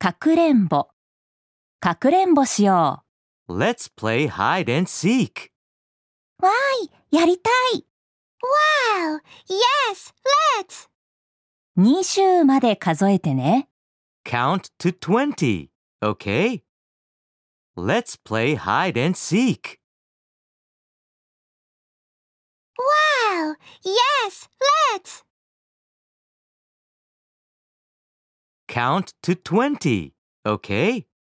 かくれんぼ、かくれんぼしよ Let's play hide and seek. う。わーい、やりたい。 Wow! Yes, let's! 20まで数えてね。 Count to 20, okay? Let's play hide and seek. Wow! Yes, let's! Count to 20, okay?